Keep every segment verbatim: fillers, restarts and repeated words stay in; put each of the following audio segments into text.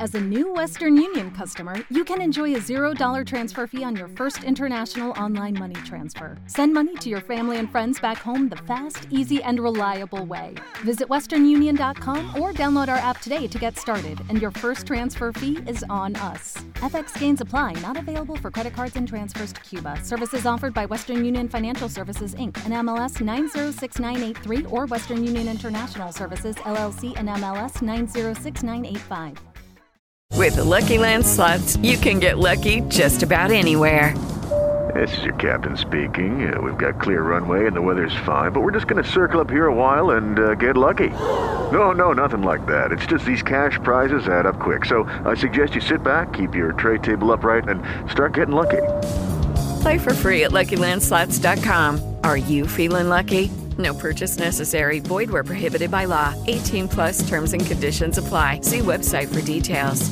As a new Western Union customer, you can enjoy a zero dollar transfer fee on your first international online money transfer. Send money to your family and friends back home the fast, easy, and reliable way. Visit western union dot com or download our app today to get started, and your first transfer fee is on us. F X gains apply, not available for credit cards and transfers to Cuba. Services offered by Western Union Financial Services, Incorporated, and M L S nine zero six nine eight three, or Western Union International Services, L L C, and M L S nine zero six nine eight five. With the Lucky Land Slots, you can get lucky just about anywhere. This is your captain speaking. Uh, we've got clear runway and the weather's fine, but we're just going to circle up here a while and uh, get lucky. No, no, nothing like that. It's just these cash prizes add up quick. So I suggest you sit back, keep your tray table upright, and start getting lucky. Play for free at lucky land slots dot com. Are you feeling lucky? No purchase necessary. Void where prohibited by law. eighteen plus terms and conditions apply. See website for details.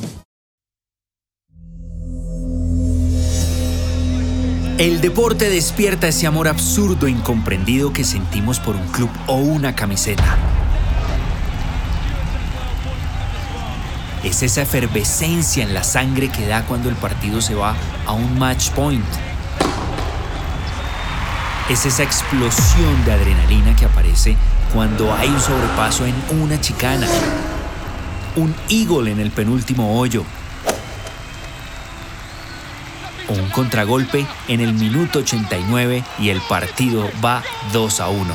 El deporte despierta ese amor absurdo e incomprendido que sentimos por un club o una camiseta. Es esa efervescencia en la sangre que da cuando el partido se va a un match point. Es esa explosión de adrenalina que aparece cuando hay un sobrepaso en una chicana, un eagle en el penúltimo hoyo, o un contragolpe en el minuto ochenta y nueve y el partido va dos a uno.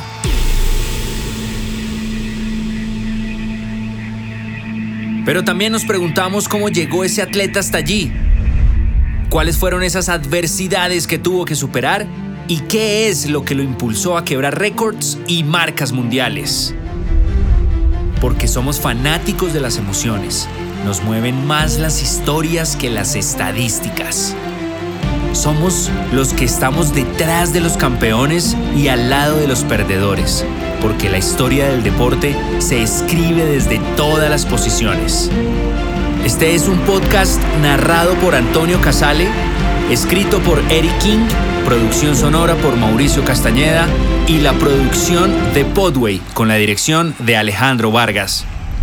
Pero también nos preguntamos cómo llegó ese atleta hasta allí. ¿Cuáles fueron esas adversidades que tuvo que superar? ¿Y qué es lo que lo impulsó a quebrar récords y marcas mundiales? Porque somos fanáticos de las emociones. Nos mueven más las historias que las estadísticas. Somos los que estamos detrás de los campeones y al lado de los perdedores, porque la historia del deporte se escribe desde todas las posiciones. Este es un podcast narrado por Antonio Casale, escrito por Eric King, producción sonora por Mauricio Castañeda y la producción de Podway con la dirección de Alejandro Vargas.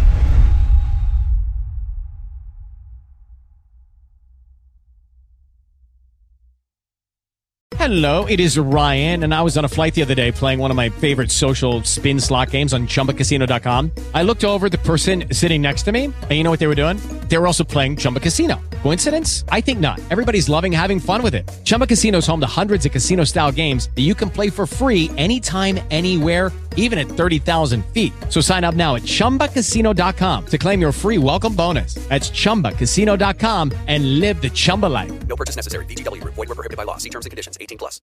Hello, it is Ryan, and I was on a flight the other day playing one of my favorite social spin slot games on chumba casino dot com. I looked over at the person sitting next to me, and you know what they were doing? They were also playing Chumba Casino. Coincidence? I think not. Everybody's loving having fun with it. Chumba Casino is home to hundreds of casino-style games that you can play for free anytime, anywhere, even at thirty thousand feet. So sign up now at chumba casino dot com to claim your free welcome bonus. That's chumba casino dot com and live the Chumba life. No purchase necessary. V G W. Void where prohibited by law. See terms and conditions. eighteen plus.